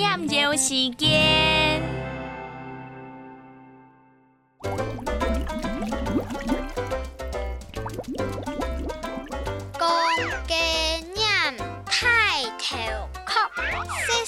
念旧时间。 公鸡念太头壳，细